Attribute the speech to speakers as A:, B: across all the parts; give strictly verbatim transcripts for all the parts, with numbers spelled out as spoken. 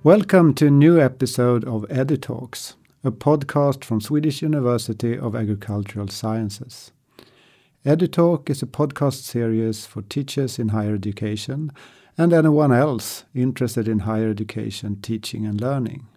A: Welcome to a new episode of EduTalks, a podcast from Swedish University of Agricultural Sciences. EduTalk is a podcast series for teachers in higher education and anyone else interested in higher education, teaching and learning.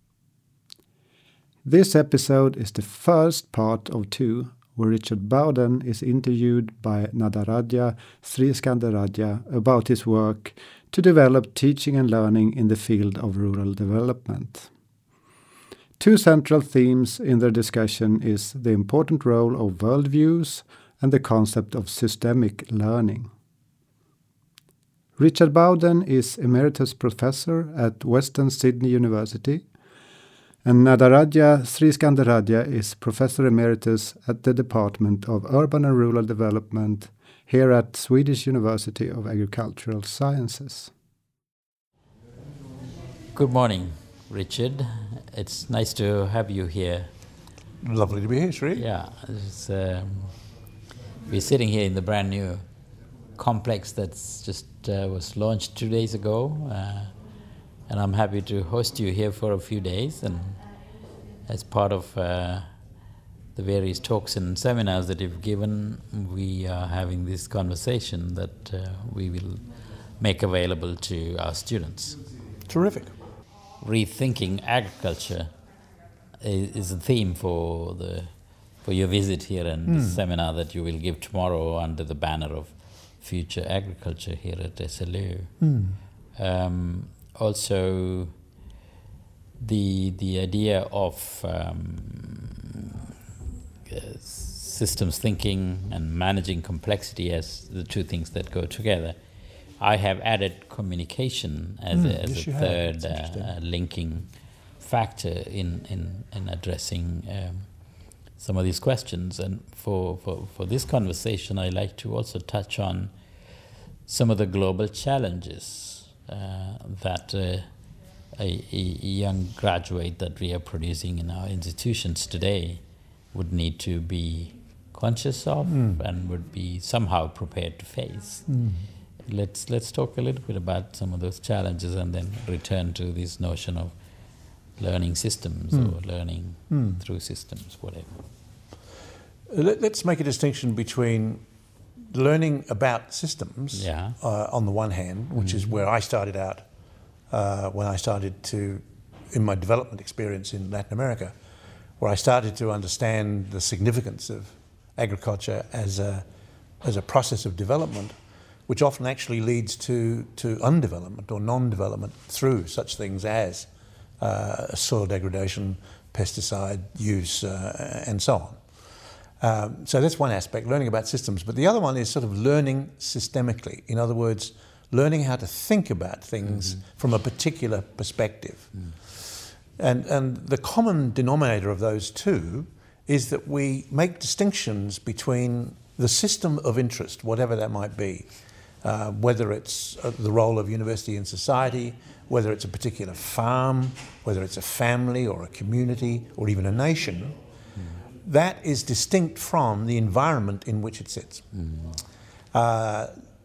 A: This episode is the first part of two, where Richard Bowden is interviewed by Nadaraja Sriskandarajah about his work to develop teaching and learning in the field of rural development. Two central themes in their discussion is the important role of worldviews and the concept of systemic learning. Richard Bowden is Emeritus Professor at Western Sydney University, and Nadaraja Sriskandarajah is Professor Emeritus at the Department of Urban and Rural Development here at Swedish University of Agricultural Sciences.
B: Good morning, Richard. It's nice to have you here.
C: Lovely to be here, Sri.
B: Yeah, it's, um, we're sitting here in the brand new complex that's just uh, was launched two days ago, uh, and I'm happy to host you here for a few days. And as part of uh, the various talks and seminars that you've given, we are having this conversation that uh, we will make available to our students.
C: Terrific.
B: Rethinking agriculture is, is a theme for the for your visit here and mm. the seminar that you will give tomorrow under the banner of Future Agriculture here at S L U. Mm. Um, also, the the idea of um, uh, systems thinking and managing complexity as the two things that go together. I have added communication as mm, a, as
C: yes,
B: a third uh, linking factor in, in, in addressing um, some of these questions. And for, for, for this conversation, I like to also touch on some of the global challenges uh, that uh, a, a young graduate that we are producing in our institutions today would need to be conscious of mm. and would be somehow prepared to face. Mm. Let's let's talk a little bit about some of those challenges and then return to this notion of learning systems mm. or learning mm. through systems, whatever.
C: Let, let's make a distinction between learning about systems
B: yeah.
C: uh, on the one hand, which mm. is where I started out uh, when I started to, in my development experience in Latin America, where I started to understand the significance of agriculture as a as a process of development, which often actually leads to, to undevelopment or non-development through such things as uh, soil degradation, pesticide use, uh, and so on. Um, so that's one aspect, learning about systems. But the other one is sort of learning systemically. In other words, learning how to think about things mm-hmm. from a particular perspective. Mm. And, and the common denominator of those two is that we make distinctions between the system of interest, whatever that might be, Uh, whether it's uh, the role of university in society, whether it's a particular farm, whether it's a family or a community or even a nation, mm. that is distinct from the environment in which it sits. Mm. Uh,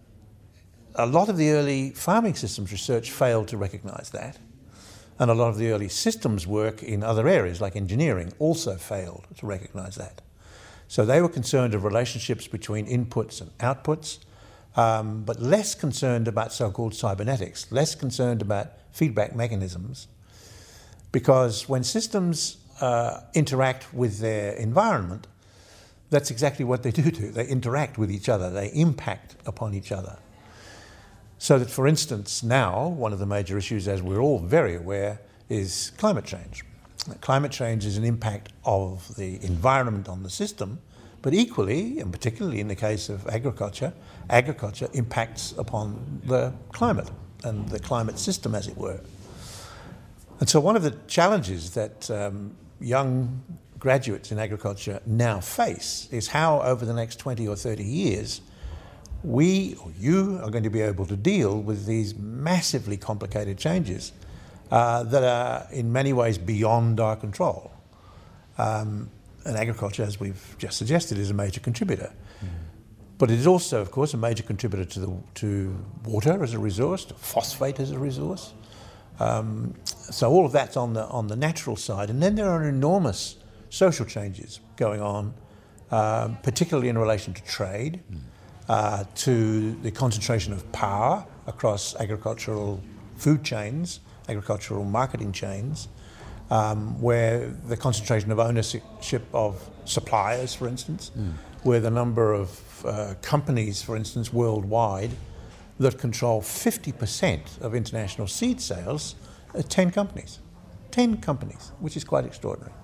C: a lot of the early farming systems research failed to recognise that, and a lot of the early systems work in other areas like engineering also failed to recognise that. So they were concerned of relationships between inputs and outputs, Um, but less concerned about so-called cybernetics, less concerned about feedback mechanisms, because when systems uh, interact with their environment, that's exactly what they do do. They interact with each other, they impact upon each other. So that, for instance, now, one of the major issues, as we're all very aware, is climate change. Climate change is an impact of the environment on the system, but equally, and particularly in the case of agriculture, agriculture impacts upon the climate and the climate system, as it were. And so one of the challenges that um, young graduates in agriculture now face is how, over the next twenty or thirty years, we, or you, are going to be able to deal with these massively complicated changes uh, that are in many ways beyond our control. Um, And agriculture, as we've just suggested, is a major contributor. Mm. But it is also, of course, a major contributor to the, to water as a resource, to phosphate as a resource, Um, so all of that's on the on the natural side, and then there are enormous social changes going on, um, particularly in relation to trade, mm. uh, to the concentration of power across agricultural food chains, agricultural marketing chains, um, where the concentration of ownership of suppliers, for instance, mm. where the number of uh, companies, for instance, worldwide that control fifty percent of international seed sales are ten companies. ten companies, which is quite extraordinary.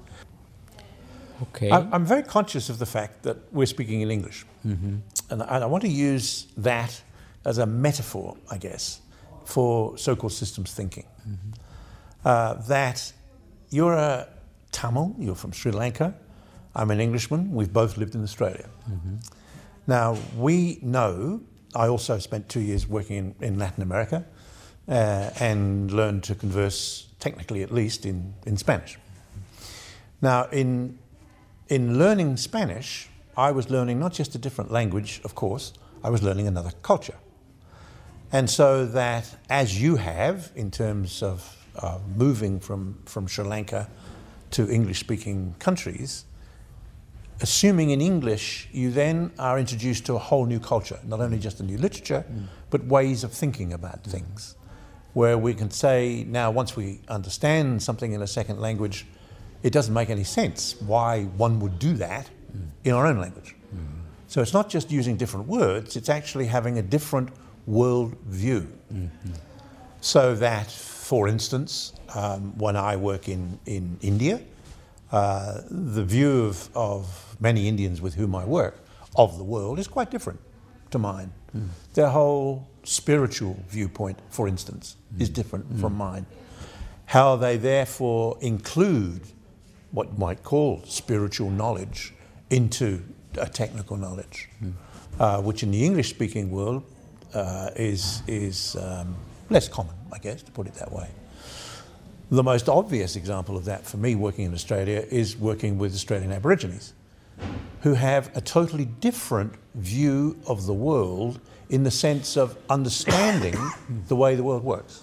B: Okay.
C: I, I'm very conscious of the fact that we're speaking in English. Mm-hmm. And I, I want to use that as a metaphor, I guess, for so-called systems thinking. Mm-hmm. Uh, that you're a Tamil, you're from Sri Lanka, I'm an Englishman, we've both lived in Australia. Mm-hmm. Now, we know, I also spent two years working in, in Latin America uh, and learned to converse, technically at least, in, in Spanish. Now, in, in learning Spanish, I was learning not just a different language, of course, I was learning another culture. And so that, as you have, in terms of uh, moving from, from Sri Lanka to English-speaking countries, assuming in English, you then are introduced to a whole new culture, not only just a new literature, mm. but ways of thinking about mm. things, where we can say, now once we understand something in a second language, it doesn't make any sense why one would do that mm. in our own language. Mm. So it's not just using different words, it's actually having a different world view. Mm-hmm. So that, for instance, um, when I work in, in India, uh, the view of, of many Indians with whom I work of the world is quite different to mine. Mm. Their whole spiritual viewpoint, for instance, mm. is different mm. from mine. How they therefore include what you might call spiritual knowledge into a technical knowledge, mm. uh, which in the English-speaking world uh, is, is um, less common, I guess, to put it that way. The most obvious example of that for me working in Australia is working with Australian Aborigines, who have a totally different view of the world in the sense of understanding the way the world works.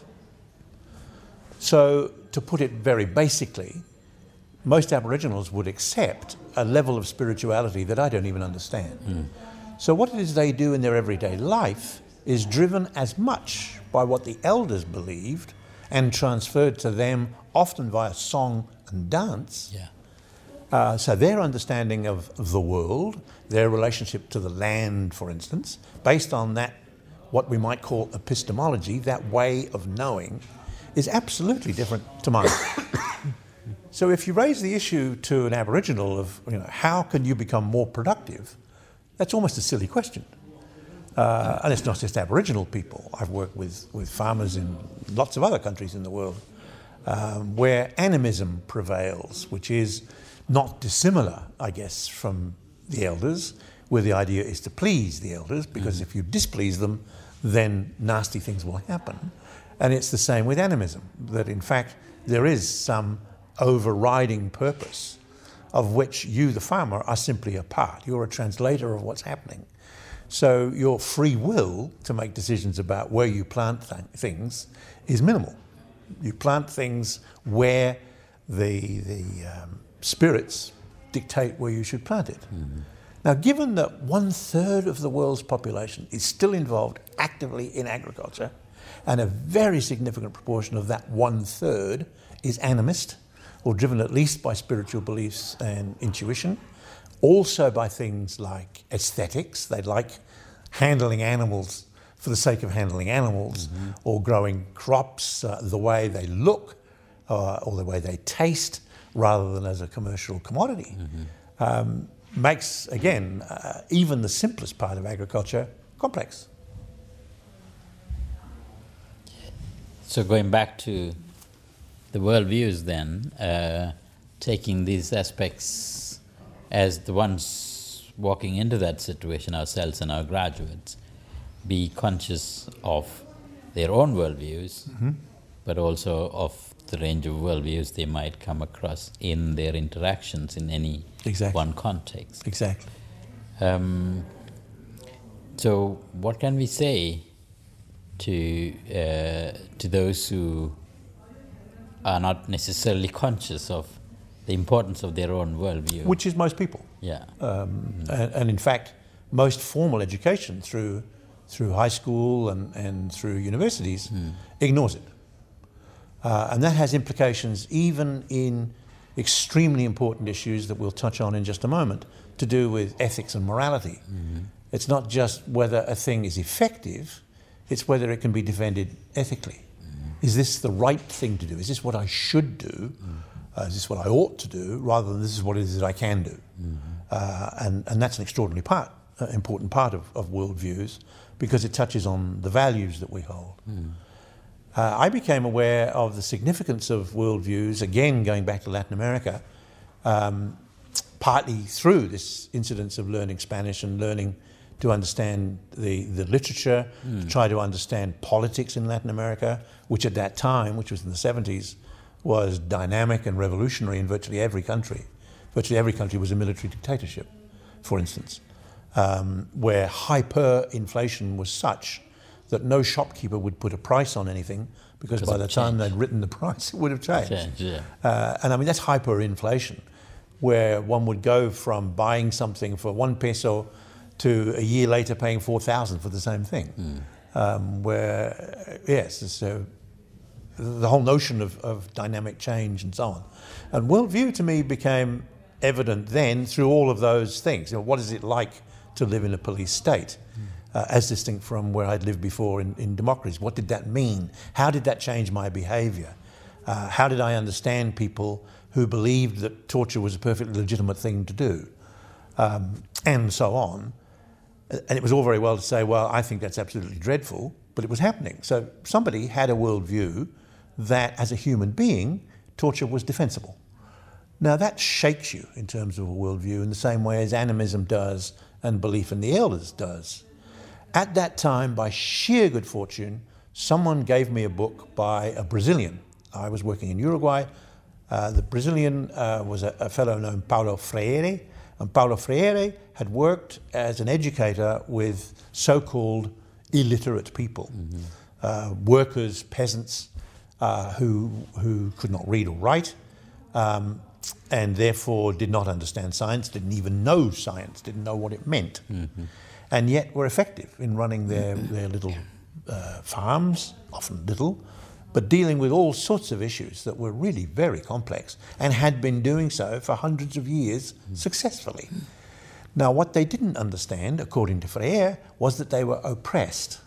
C: So, to put it very basically, most Aboriginals would accept a level of spirituality that I don't even understand. Mm. So what it is they do in their everyday life is driven as much by what the elders believed and transferred to them, often via song and dance.
B: Yeah.
C: Uh, so their understanding of the world, their relationship to the land, for instance, based on that, what we might call epistemology, that way of knowing, is absolutely different to mine. So if you raise the issue to an Aboriginal of, you know, how can you become more productive, that's almost a silly question. Uh, and it's not just Aboriginal people. I've worked with, with farmers in lots of other countries in the world um, where animism prevails, which is not dissimilar, I guess, from the elders, where the idea is to please the elders, because mm-hmm. if you displease them, then nasty things will happen. And it's the same with animism, that in fact there is some overriding purpose of which you, the farmer, are simply a part. You're a translator of what's happening. So your free will to make decisions about where you plant th- things is minimal. You plant things where the, the um, spirits dictate where you should plant it. Mm-hmm. Now, given that one third of the world's population is still involved actively in agriculture, and a very significant proportion of that one third is animist, or driven at least by spiritual beliefs and intuition, also by things like aesthetics. They like handling animals for the sake of handling animals, mm-hmm. or growing crops uh, the way they look uh, or the way they taste rather than as a commercial commodity. Mm-hmm. Um, makes, again, uh, even the simplest part of agriculture complex.
B: So going back to the worldviews then, uh, taking these aspects as the ones walking into that situation, ourselves and our graduates, be conscious of their own worldviews, mm-hmm. but also of the range of worldviews they might come across in their interactions in any exactly. one context.
C: Exactly.
B: Um, so what can we say to uh, to those who are not necessarily conscious of the importance of their own worldview.
C: Which is most people.
B: Yeah.
C: Um, mm. and, and in fact, most formal education through through high school and, and through universities mm. ignores it. Uh, and that has implications even in extremely important issues that we'll touch on in just a moment, to do with ethics and morality. Mm-hmm. It's not just whether a thing is effective, it's whether it can be defended ethically. Mm-hmm. Is this the right thing to do? Is this what I should do? Mm-hmm. Uh, is this what I ought to do, rather than this is what it is that I can do? Mm-hmm. Uh, and, and that's an extraordinary part, uh, important part of, of worldviews, because it touches on the values that we hold. Mm-hmm. Uh, I became aware of the significance of worldviews, again going back to Latin America, um, partly through this incidence of learning Spanish and learning to understand the, the literature, mm. to try to understand politics in Latin America, which at that time, which was in the seventies, was dynamic and revolutionary in virtually every country. Virtually every country was a military dictatorship, for instance, um, where hyperinflation was such that no shopkeeper would put a price on anything, because by the time they'd written the price, it would have changed.
B: Change, yeah.
C: uh, and I mean, that's hyperinflation, where one would go from buying something for one peso to a year later paying four thousand for the same thing. Mm. Um, where, yes, so the whole notion of, of dynamic change and so on. And worldview to me became evident then through all of those things. You know, what is it like to live in a police state? Mm. Uh, as distinct from where I'd lived before in, in democracies. What did that mean? How did that change my behaviour? Uh, how did I understand people who believed that torture was a perfectly legitimate thing to do? Um, and so on. And it was all very well to say, well, I think that's absolutely dreadful, but it was happening. So somebody had a worldview that, as a human being, torture was defensible. Now that shakes you in terms of a worldview in the same way as animism does and belief in the elders does. At that time, by sheer good fortune, someone gave me a book by a Brazilian. I was working in Uruguay. Uh, the Brazilian uh, was a, a fellow named Paulo Freire, and Paulo Freire had worked as an educator with so-called illiterate people, mm-hmm. uh, workers, peasants, uh, who, who could not read or write, um, and therefore did not understand science, didn't even know science, didn't know what it meant. Mm-hmm. And yet were effective in running their, their little uh, farms, often little, but dealing with all sorts of issues that were really very complex and had been doing so for hundreds of years successfully. Now, what they didn't understand, according to Freire, was that they were oppressed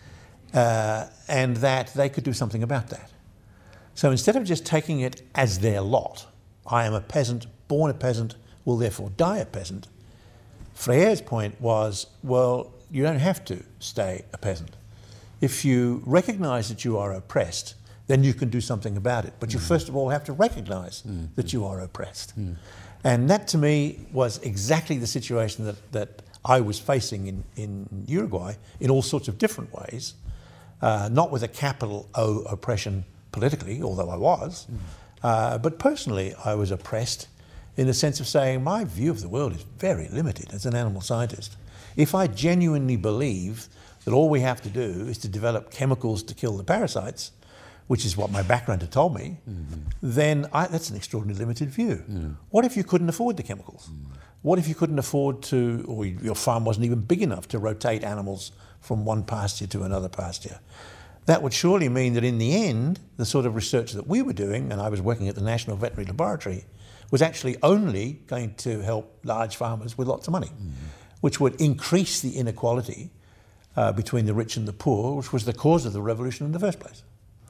C: uh, and that they could do something about that. So instead of just taking it as their lot, I am a peasant, born a peasant, will therefore die a peasant, Freire's point was, well, you don't have to stay a peasant. If you recognise that you are oppressed, then you can do something about it. But you mm. first of all have to recognise mm. that you are oppressed. Mm. And that to me was exactly the situation that, that I was facing in, in Uruguay in all sorts of different ways, uh, not with a capital O oppression politically, although I was, mm. uh, but personally I was oppressed in the sense of saying my view of the world is very limited as an animal scientist. If I genuinely believe that all we have to do is to develop chemicals to kill the parasites, which is what my background had told me, mm-hmm. then I, that's an extraordinarily limited view. Mm. What if you couldn't afford the chemicals? Mm. What if you couldn't afford to, or your farm wasn't even big enough to rotate animals from one pasture to another pasture? That would surely mean that in the end, the sort of research that we were doing, and I was working at the National Veterinary Laboratory, was actually only going to help large farmers with lots of money, mm. which would increase the inequality uh, between the rich and the poor, which was the cause of the revolution in the first place.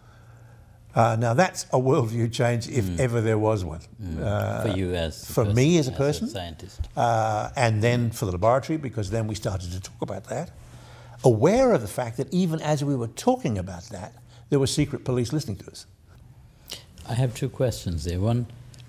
C: Uh, now that's a worldview change, if mm. ever there was one.
B: Mm. Uh, for you as
C: for
B: person,
C: me as a
B: as
C: person,
B: a scientist,
C: uh, and then for the laboratory, because then we started to talk about that, aware of the fact that even as we were talking about that, there was secret police listening to us.
B: I have two questions there. One,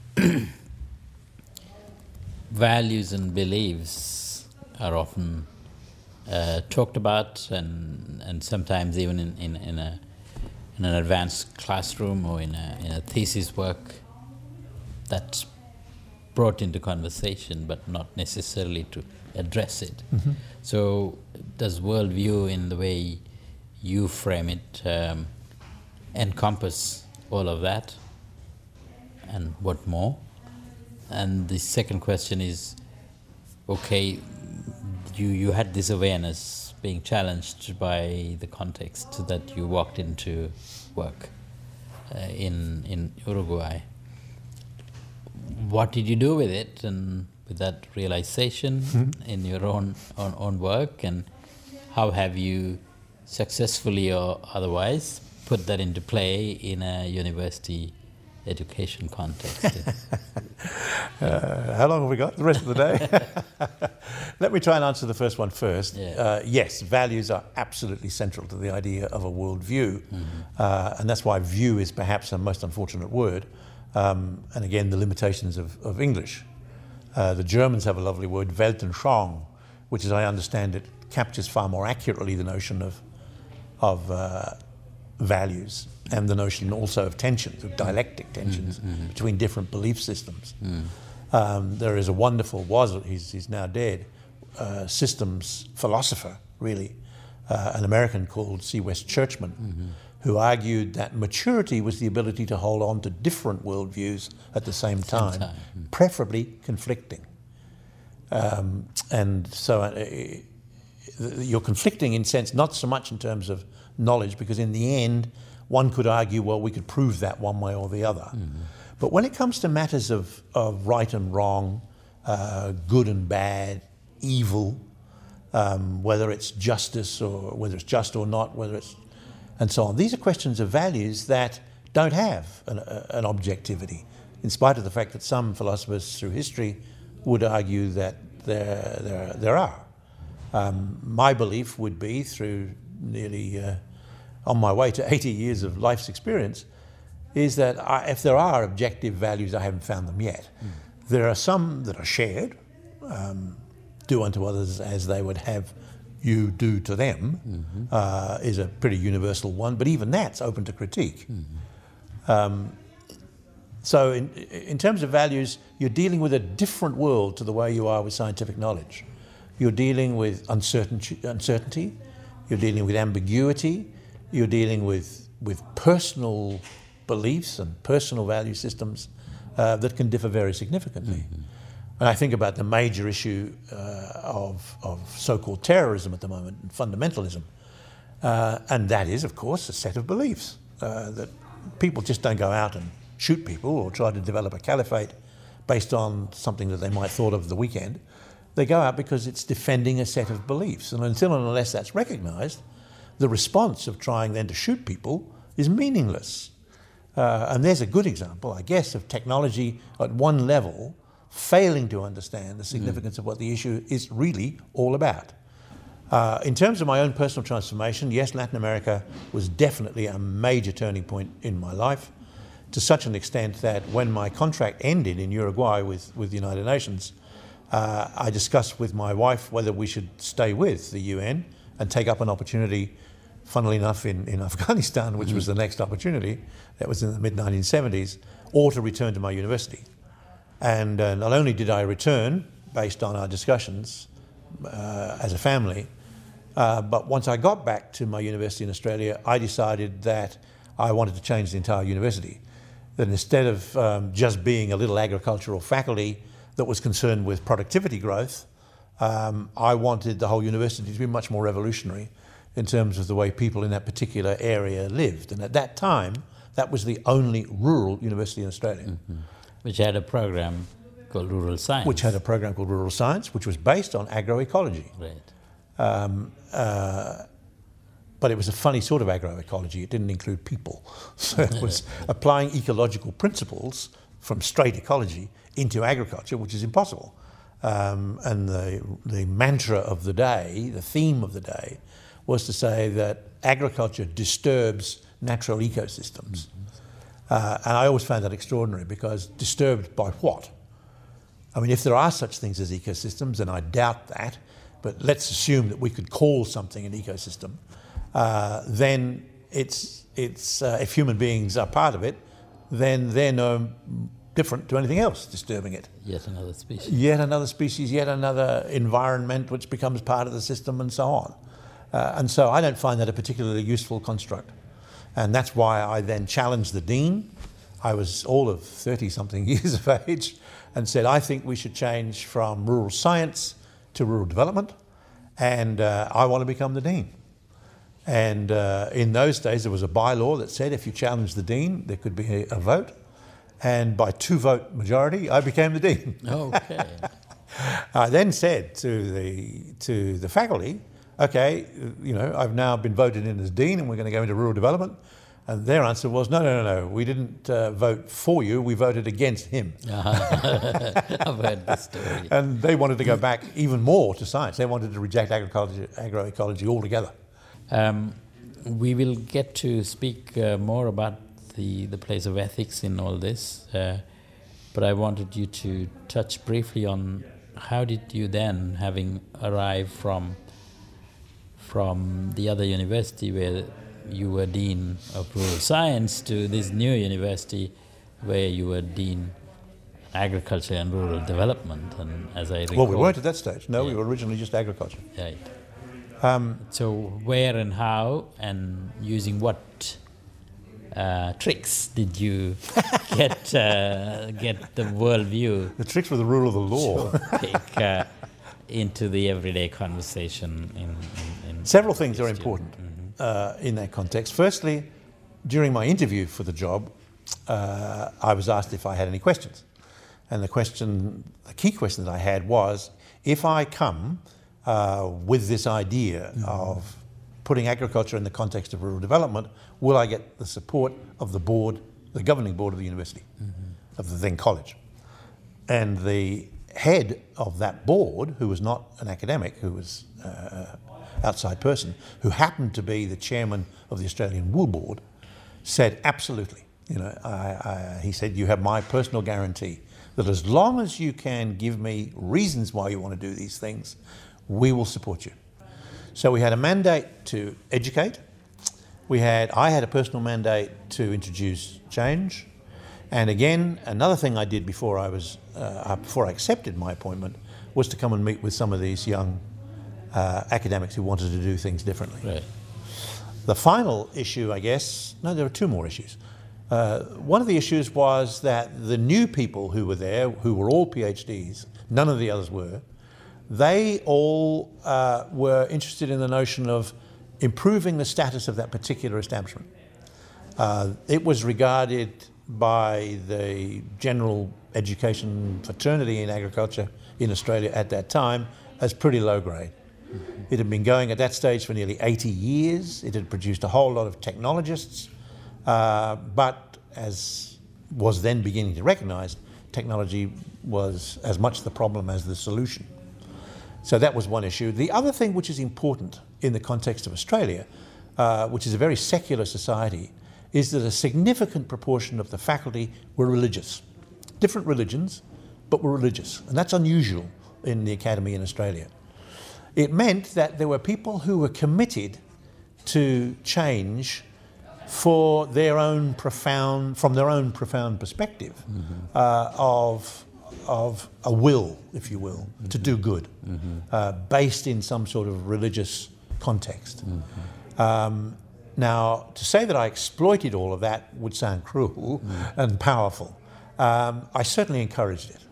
B: values and beliefs are often uh, talked about, and and sometimes even in, in, in a in an advanced classroom or in a, in a thesis work, that's brought into conversation, but not necessarily to address it. Mm-hmm. So does worldview, in the way you frame it, um, encompass all of that? and what more? And the second question is, okay, you, you had this awareness being challenged by the context that you walked into work uh, in in Uruguay. What did you do with it, and with that realization mm-hmm. in your own, own own work, and how have you successfully or otherwise put that into play in a university education context?
C: uh, how long have we got? The rest of the day? Let me try and answer the first one first.
B: Yeah.
C: Uh, yes, values are absolutely central to the idea of a worldview, mm-hmm. uh, and that's why view is perhaps a most unfortunate word. Um, and again, the limitations of, of English. Uh, the Germans have a lovely word, Weltanschauung, which, as I understand it, captures far more accurately the notion of of uh, values and the notion also of tensions, of dialectic tensions mm-hmm, mm-hmm. between different belief systems. Mm. Um, there is a wonderful, was he's, he's now dead, uh, systems philosopher, really, uh, an American called C. West Churchman, mm-hmm. who argued that maturity was the ability to hold on to different worldviews at the same time, same time. Mm. preferably conflicting. Um, and so uh, you're conflicting in sense, not so much in terms of knowledge, because in the end, one could argue, well, we could prove that one way or the other. Mm-hmm. But when it comes to matters of, of right and wrong, uh, good and bad, evil, um, whether it's justice or whether it's just or not, whether it's and so on. These are questions of values that don't have an, uh, an objectivity, in spite of the fact that some philosophers through history would argue that there, there, there are. Um, my belief would be, through nearly uh, on my way to eighty years of life's experience, is that I, if there are objective values, I haven't found them yet. Mm. There are some that are shared, um, do unto others as they would have you do to them, mm-hmm. uh, is a pretty universal one, but even that's open to critique. Mm-hmm. Um, so in, in terms of values, you're dealing with a different world to the way you are with scientific knowledge. You're dealing with uncertainty, uncertainty, you're dealing with ambiguity, you're dealing with, with personal beliefs and personal value systems uh, that can differ very significantly. Mm-hmm. And I think about the major issue uh, of, of so-called terrorism at the moment, and fundamentalism. Uh, and that is, of course, a set of beliefs, uh, that people just don't go out and shoot people or try to develop a caliphate based on something that they might have thought of the weekend. They go out because it's defending a set of beliefs. And until and unless that's recognised, the response of trying then to shoot people is meaningless. Uh, and there's a good example, I guess, of technology at one level failing to understand the significance mm. of what the issue is really all about. Uh, in terms of my own personal transformation, yes, Latin America was definitely a major turning point in my life, to such an extent that when my contract ended in Uruguay with, with the United Nations, uh, I discussed with my wife whether we should stay with the U N and take up an opportunity, funnily enough, in, in Afghanistan, which mm. was the next opportunity, that was in the mid nineteen seventies, or to return to my university. And uh, not only did I return, based on our discussions uh, as a family, uh, but once I got back to my university in Australia, I decided that I wanted to change the entire university. That instead of um, just being a little agricultural faculty that was concerned with productivity growth, um, I wanted the whole university to be much more revolutionary in terms of the way people in that particular area lived. And at that time, that was the only rural university in Australia. Mm-hmm.
B: Which had a program called Rural Science.
C: Which had a program called Rural Science, which was based on agroecology.
B: Right.
C: Um, uh, but it was a funny sort of agroecology. It didn't include people. So it was applying ecological principles from straight ecology into agriculture, which is impossible. Um, and the, the mantra of the day, the theme of the day, was to say that agriculture disturbs natural ecosystems. Mm-hmm. Uh, and I always found that extraordinary, because disturbed by what? I mean, if there are such things as ecosystems, and I doubt that, but let's assume that we could call something an ecosystem, uh, then it's, it's uh, if human beings are part of it, then they're no different to anything else disturbing it.
B: Yet another species.
C: Yet another species, yet another environment which becomes part of the system, and so on. Uh, and so I don't find that a particularly useful construct. And that's why I then challenged the dean. I was all of thirty-something years of age, and said, I think we should change from rural science to rural development, and uh, I want to become the dean. And uh, in those days, there was a bylaw that said if you challenged the dean, there could be a, a vote. And by two-vote majority, I became the dean.
B: Okay.
C: I then said to the to the faculty, okay, you know, I've now been voted in as dean, and we're going to go into rural development. And their answer was, no, no, no, no, we didn't uh, vote for you, we voted against him.
B: Uh-huh. I've heard the story.
C: And they wanted to go back even more to science. They wanted to reject agriculture, agroecology altogether.
B: Um, we will get to speak uh, more about the, the place of ethics in all this, uh, but I wanted you to touch briefly on how did you then, having arrived from from the other university where you were Dean of Rural Science to this new university where you were Dean Agriculture and Rural Development, and as I recall...
C: Well, we weren't at that stage. No,
B: yeah.
C: we were originally just agriculture.
B: Right.
C: Um,
B: so where and how and using what uh, tricks did you get uh, get the worldview
C: the tricks were the rule of the law.
B: to take uh, into the everyday conversation in, in, in
C: Several things are
B: student.
C: important
B: Mm-hmm.
C: uh, in that context. Firstly, during my interview for the job, uh, I was asked if I had any questions. And the question, the key question that I had was, if I come uh, with this idea mm-hmm. of putting agriculture in the context of rural development, will I get the support of the board, the governing board of the university, mm-hmm. of the then college? And the head of that board, who was not an academic, who was uh, outside person, who happened to be the chairman of the Australian Wool Board, said absolutely. You know, I, I, he said, you have my personal guarantee that as long as you can give me reasons why you want to do these things, we will support you. So we had a mandate to educate. We had, I had a personal mandate to introduce change. And again, another thing I did before I was, uh, before I accepted my appointment was to come and meet with some of these young uh, academics who wanted to do things differently.
B: Right.
C: The final issue, I guess, no, there were two more issues. Uh, one of the issues was that the new people who were there, who were all PhDs, none of the others were, they all uh, were interested in the notion of improving the status of that particular establishment. Uh, it was regarded by the general education fraternity in agriculture in Australia at that time as pretty low grade. Mm-hmm. It had been going at that stage for nearly eighty years. It had produced a whole lot of technologists, uh, but as was then beginning to recognise, technology was as much the problem as the solution. So that was one issue. The other thing which is important in the context of Australia, uh, which is a very secular society, is that a significant proportion of the faculty were religious. Different religions, but were religious. And that's unusual in the academy in Australia. It meant that there were people who were committed to change for their own profound, from their own profound perspective, mm-hmm. uh, of, of a will, if you will, mm-hmm. to do good, mm-hmm. uh, based in some sort of religious context. Mm-hmm. Um, now, to say that I exploited all of that would sound cruel mm. and powerful. Um, I certainly encouraged it.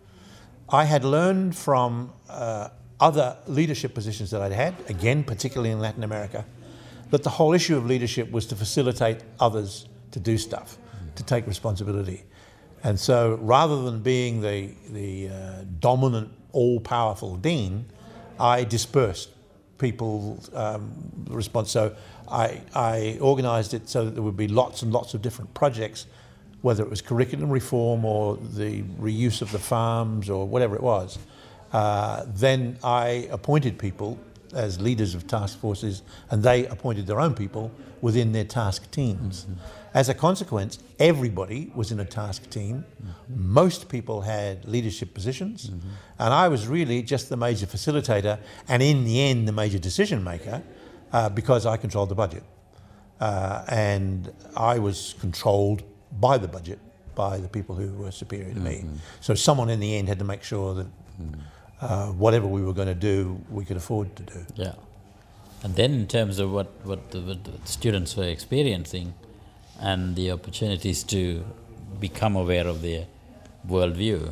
C: I had learned from uh, other leadership positions that I'd had, again, particularly in Latin America, that the whole issue of leadership was to facilitate others to do stuff, mm. to take responsibility. And so rather than being the, the uh, dominant, all-powerful dean, I dispersed people's um, response. So I, I organised it so that there would be lots and lots of different projects, whether it was curriculum reform or the reuse of the farms or whatever it was. Uh, then I appointed people as leaders of task forces, and they appointed their own people within their task teams. Mm-hmm. As a consequence, everybody was in a task team. Mm-hmm. Most people had leadership positions, mm-hmm. and I was really just the major facilitator, and in the end, the major decision maker, uh, because I controlled the budget. Uh, and I was controlled by the budget, by the people who were superior to mm-hmm. me. So someone in the end had to make sure that mm-hmm. uh, whatever we were going to do, we could afford to do.
B: Yeah. And then in terms of what, what, the, what the students were experiencing and the opportunities to become aware of their worldview.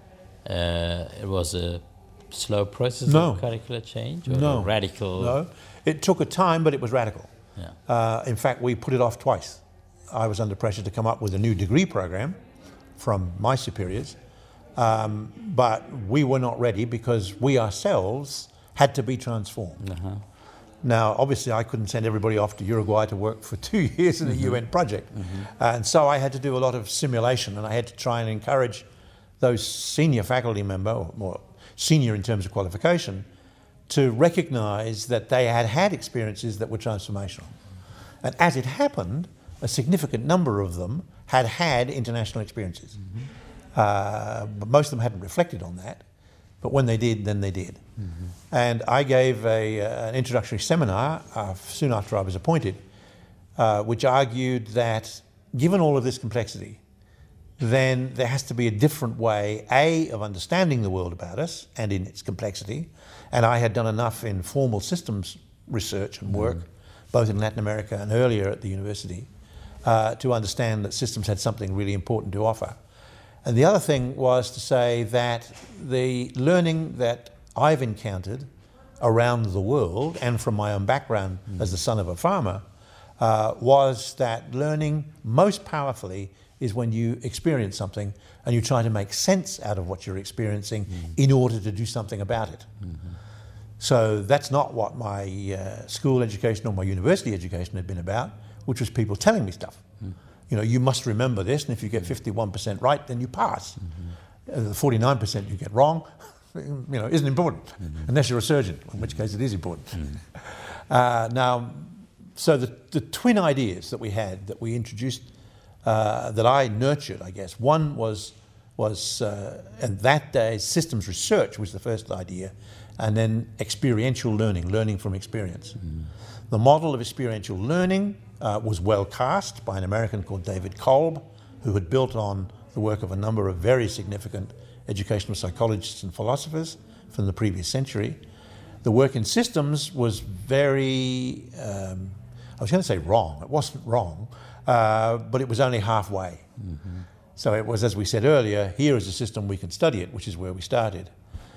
B: Uh, it was a slow process
C: No.
B: of curricular change, or
C: No.
B: a radical.
C: No, it took a time, but it was radical.
B: Yeah.
C: Uh, in fact, we put it off twice. I was under pressure to come up with a new degree program from my superiors, um, but we were not ready because we ourselves had to be transformed.
B: Uh-huh.
C: Now, obviously, I couldn't send everybody off to Uruguay to work for two years in a
B: Mm-hmm.
C: U N project. Mm-hmm. And so I had to do a lot of simulation, and I had to try and encourage those senior faculty member, or more senior in terms of qualification, to recognise that they had had experiences that were transformational. And as it happened, a significant number of them had had international experiences. Mm-hmm. Uh, but most of them hadn't reflected on that. But when they did, then they did. Mm-hmm. And I gave a, uh, an introductory seminar uh, soon after I was appointed, uh, which argued that given all of this complexity, then there has to be a different way, A, of understanding the world about us and in its complexity. And I had done enough in formal systems research and work, mm-hmm. both in Latin America and earlier at the university, uh, to understand that systems had something really important to offer. And the other thing was to say that the learning that I've encountered around the world, and from my own background mm. as the son of a farmer, uh, was that learning most powerfully is when you experience something and you try to make sense out of what you're experiencing mm. in order to do something about it. Mm-hmm. So that's not what my uh, school education or my university education had been about, which was people telling me stuff. Mm. You know, you must remember this, and if you get fifty-one percent right, then you pass. Mm-hmm. Uh, the forty-nine percent you get wrong, you know, isn't important, mm-hmm. unless you're a surgeon, in which case it is important. Mm-hmm. Uh, now, so the, the twin ideas that we had, that we introduced, uh, that I nurtured, I guess, one was, was uh, and that day, systems research was the first idea, and then experiential learning, learning from experience. Mm-hmm. The model of experiential learning Uh, was well cast by an American called David Kolb, who had built on the work of a number of very significant educational psychologists and philosophers from the previous century. The work in systems was very, um, I was going to say wrong, it wasn't wrong, uh, but it was only halfway. Mm-hmm. So it was, as we said earlier, here is a system we can study it, which is where we started.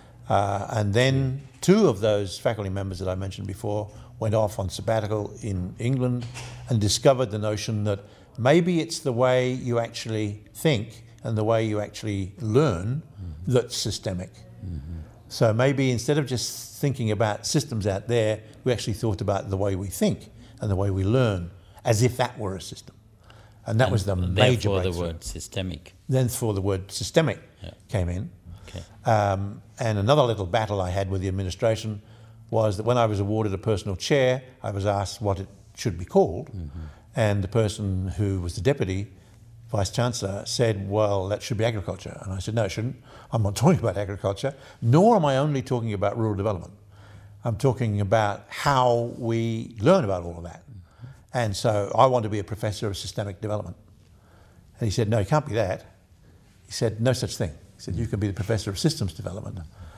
C: Uh, and then two of those faculty members that I mentioned before went off on sabbatical in England and discovered the notion that maybe it's the way you actually think and the way you actually learn mm-hmm. that's systemic. Mm-hmm. So maybe instead of just thinking about systems out there, we actually thought about the way we think and the way we learn as if that were a system. And that
B: and
C: was the major
B: breakthrough.
C: Therefore
B: the word systemic.
C: Then for the word systemic
B: yeah.
C: came in.
B: Okay.
C: Um, and another little battle I had with the administration was that when I was awarded a personal chair, I was asked what it should be called. Mm-hmm. And the person who was the deputy vice-chancellor said, well, that should be agriculture. And I said, no, it shouldn't. I'm not talking about agriculture, nor am I only talking about rural development. I'm talking about how we learn about all of that. Mm-hmm. And so I want to be a professor of systemic development. And he said, no, you can't be that. He said, no such thing. He said, you can be the professor of systems development.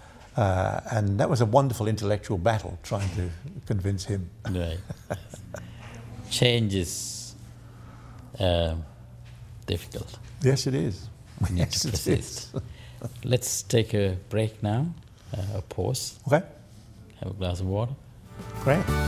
C: Uh, and that was a wonderful intellectual battle trying to convince him.
B: Right. Change is uh, difficult.
C: Yes, it is.
B: We need
C: yes,
B: to
C: it
B: persist.
C: is.
B: Let's take a break now, uh, a pause.
C: Okay.
B: Have a glass of water.
C: Great.